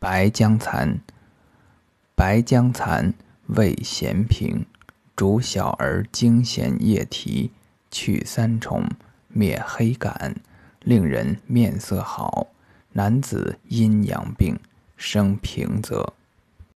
白僵蚕，白僵蚕味咸平，主小儿惊痫夜啼，去三虫，灭黑感，令人面色好。男子阴阳病，生平泽。